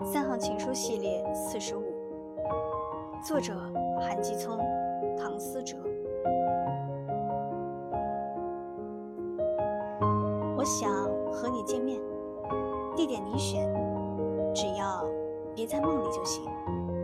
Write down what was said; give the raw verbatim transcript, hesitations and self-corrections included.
三行情书系列四十五，作者韩基聪、唐思哲。我想和你见面，地点你选，只要别在梦里就行。